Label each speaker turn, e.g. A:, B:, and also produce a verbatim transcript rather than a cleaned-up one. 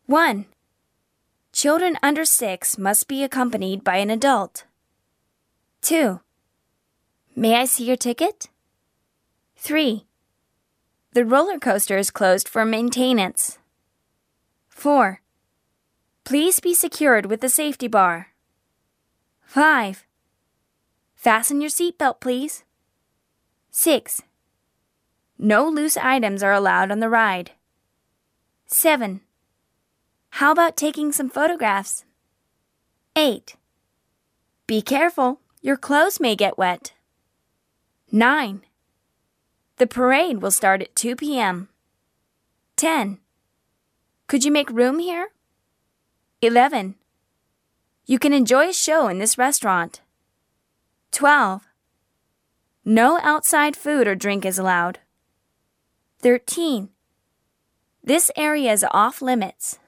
A: one. Children under six must be accompanied by an adult. two. May I see your ticket? three. The roller coaster is closed for maintenance. four. Please be secured with the safety bar. five. Fasten your seatbelt, please. six. No loose items are allowed on the ride. seven. How about taking some photographs? eight. Be careful, your clothes may get wet. nine. The parade will start at two p.m. ten. Could you make room here? eleven. You can enjoy a show in this restaurant. twelve. No outside food or drink is allowed. thirteen. This area is off limits.